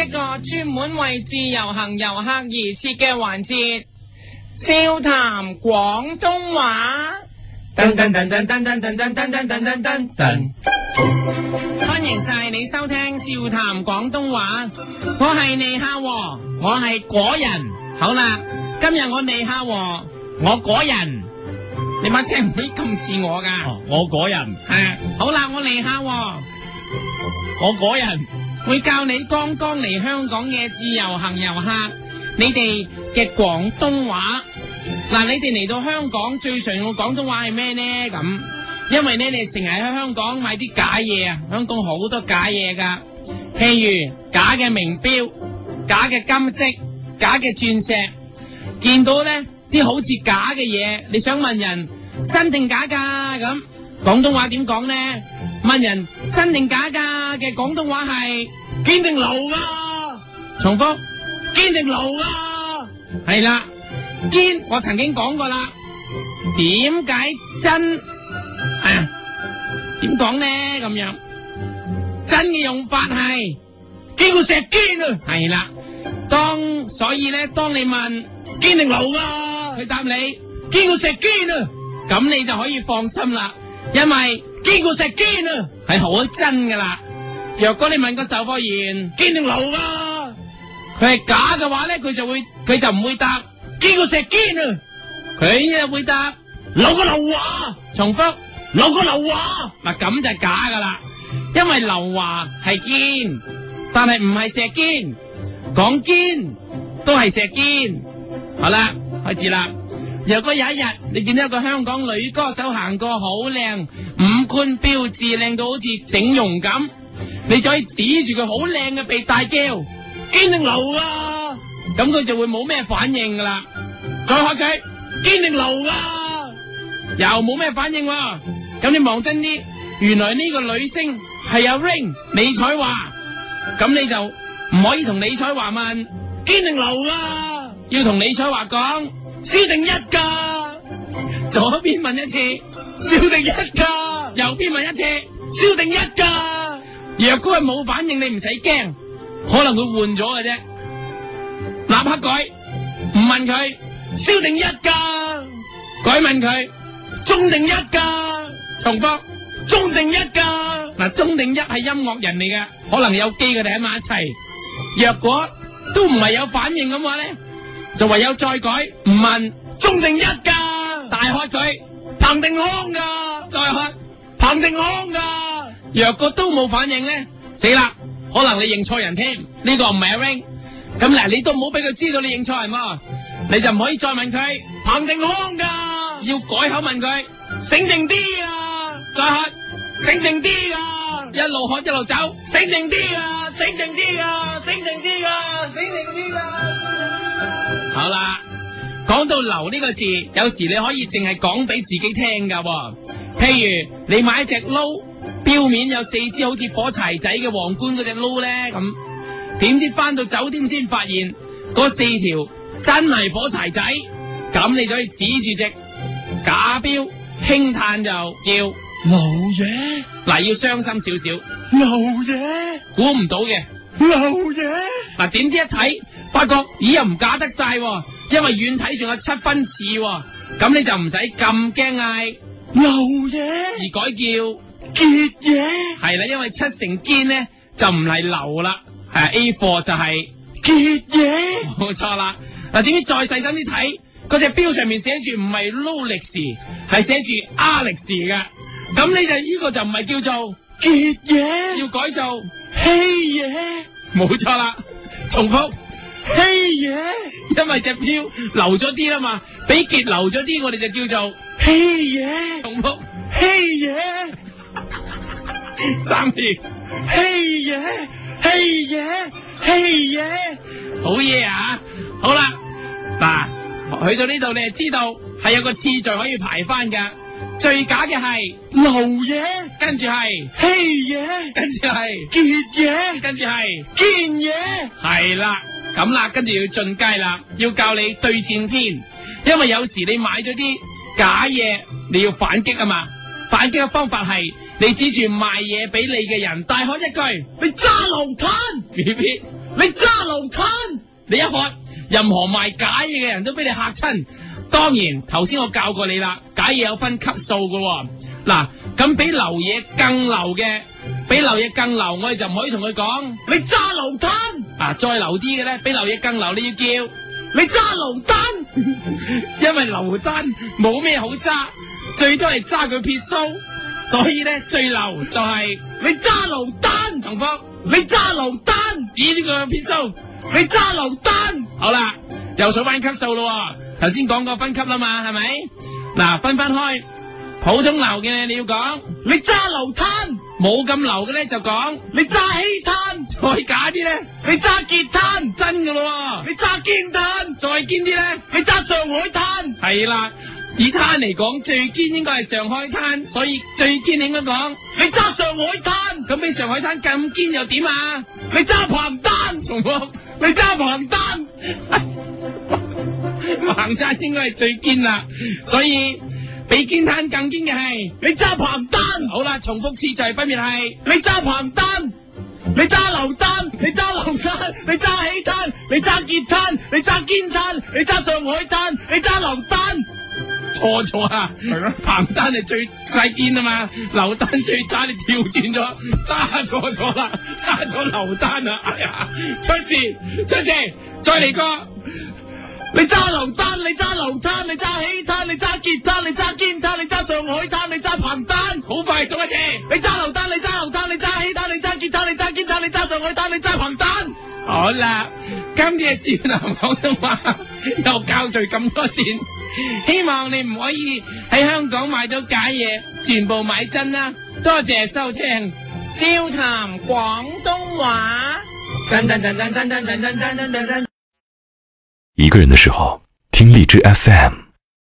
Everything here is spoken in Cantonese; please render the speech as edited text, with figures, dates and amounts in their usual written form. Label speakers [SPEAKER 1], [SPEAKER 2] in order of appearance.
[SPEAKER 1] 個專門為自由行遊客而設嘅環節，笑談廣東話。噔噔噔噔噔噔噔噔噔噔噔噔噔，歡迎晒你收聽笑談廣東話，我係尼夏和，我係果人。好啦，今日我尼夏和，我果人，你把聲唔可以咁似我噶。
[SPEAKER 2] 我果人
[SPEAKER 1] 係，好啦，我尼夏和，
[SPEAKER 2] 我果人
[SPEAKER 1] 會教你剛剛嚟香港嘅自由行遊客，你哋嘅廣東話。嗱，你哋嚟到香港最常用嘅廣東話係咩呢？咁，因為呢，你成日喺香港買啲假嘢啊，香港好多假嘢噶，譬如假嘅名錶、假嘅金飾、假嘅鑽石，見到呢啲好似假嘅嘢，你想問人真定假噶？咁廣東話點講呢？問人真定假噶嘅廣東話係堅定流噶。重複，堅定流噶。係啦。堅我曾經講過啦，點解真點講呢？咁樣真嘅用法係堅過石堅啊，係啦。所以咧，當你問堅定流噶，佢答你堅過石堅啊，咁你就可以放心啦，因為堅過石堅啊係好真噶啦。若果你問個售貨員堅定流噶，佢係假嘅話咧，佢就唔會答堅過石堅啊，佢就會答流個流華。重複，流個流華。嗱，咁就假噶啦，因為流華係堅，但係唔係石堅，講堅都係石堅。好啦，開始啦。如果有一日你見到一個香港女歌手行過好靚，五官標緻靚到好似整容咁，你就可以指住佢好靚嘅鼻大叫堅定流啊，咁佢就會冇咩反應噶啦。再學佢堅定流噶，又冇咩反應喎。咁你望真啲，原來呢個女星係阿 Ring 李彩華，咁你就唔可以同李彩華問堅定流噶，要同李彩華講蕭定一噶。左邊問一次蕭定一噶，右邊問一次蕭定一噶。若果係冇反應，你唔使驚，可能佢換咗嘅啫，立刻改，唔問佢蕭定一噶，改問佢鍾定一噶。重複，鍾定一噶。嗱，鍾定一係音樂人嚟嘅，可能有機佢哋喺埋一齊。若果都唔係有反應咁話咧，就唯有再改，唔問鍾定一噶，大喝佢彭定康噶，再喝彭定康噶。若果都冇反應咧，死啦，可能你認錯人添，呢個唔係阿 Ring。咁嗱，你都唔好俾佢知道你認錯人喎，你就唔可以再問佢彭定康噶，要改口問佢醒定啲啊，再喝醒定啲啊，一路喝一路走，醒定啲啊，醒定啲啊，醒定啲啊，醒定啲啊。好啦，講到流呢個字，有時你可以淨係講俾自己聽噶，譬如你買一隻撈，表面有4支好似火柴仔嘅皇冠嗰隻撈咧，咁點知翻到酒店先發現嗰4條真係火柴仔，咁你就可以指住隻假錶輕嘆就叫流嘢。嗱，要傷心少少，流嘢，估唔到嘅流嘢。嗱，點知一睇發覺咦又唔假得晒，因為遠睇仲有7分似，咁你就唔使咁驚嗌流嘢，而改叫結嘢。係啦，因為7成堅咧就唔係流啦，係 A 貨就係結嘢，冇錯啦。嗱，點知再細心啲睇，嗰隻錶上面寫住唔係 Rolex，係寫住 Alex 嘅，咁你就呢個就唔係叫做結嘢，要改做稀嘢，冇錯啦。重複，稀嘢，因為隻錶流咗啲啦嘛，比結流咗啲，我哋就叫做稀嘢。重複，稀嘢，3次，稀嘢，稀嘢，稀嘢，好嘢啊！好啦，嗱，去到呢度你就知道係有個次序可以排翻噶。最假嘅係流嘢，跟住係稀嘢，跟住係結嘢，跟住係堅嘢，係啦。咁啦，跟住要進階啦，要教你對戰篇，因為有時你買咗啲假嘢，你要反擊啊嘛。反擊嘅方法係你指住賣嘢俾你嘅人，大喝一句：你揸流攤！BB 你揸流灘，你一喝，任何賣假嘢嘅人都俾你嚇親。當然，頭先我教過你啦，假嘢有分級數噶。嗱，咁比流嘢更流嘅，比流嘢更流，我哋就唔可以同佢講你揸流灘。啊，再流啲嘅咧，比流嘢更流，你要叫你揸流單，因為流單冇咩好揸，最多係揸佢撇須，所以咧最流就係你揸流單。重複，你揸流單，指住佢撇須，你揸流單。好啦，又數翻級數咯。頭先講過分級啦嘛，係咪？嗱，分開，普通流嘅你要講你揸流灘，冇咁流嘅咧就講你揸稀灘，再假啲咧你揸結灘，真噶咯，你揸堅灘，再堅啲咧你揸上海灘。係啦，以灘嚟講最堅應該係上海灘，所以最堅應該講你揸上海灘。咁比上海灘咁堅又點啊？你揸彭丹，重複，你揸彭丹。彭丹應該係最堅啦，所以比堅灘更堅嘅係你揸彭丹。好啦，重複次序分別係你揸彭丹，你揸流丹，你揸流灘，你揸稀灘，你揸結灘，你揸堅灘，你揸上海灘，你揸流丹。錯啊，係咯，彭丹係最細堅啊嘛，流丹最渣，你調轉咗，揸錯啦，揸咗流丹啊！哎呀，出事，再嚟個。你揸流單，你揸流灘，你揸稀灘，你揸結灘，你揸堅灘，你揸上海灘，你揸彭丹。好快數一次，你揸流單，你揸流灘，你揸稀灘，你揸結灘，你揸堅灘，你揸上海灘，你揸彭丹。好啦，今次係少男廣東話又教聚咁多錢，希望你唔可以喺香港買到假嘢，全部買真啦。多謝收聽笑談廣東話。
[SPEAKER 3] 一個人的時候，聽荔枝 FM。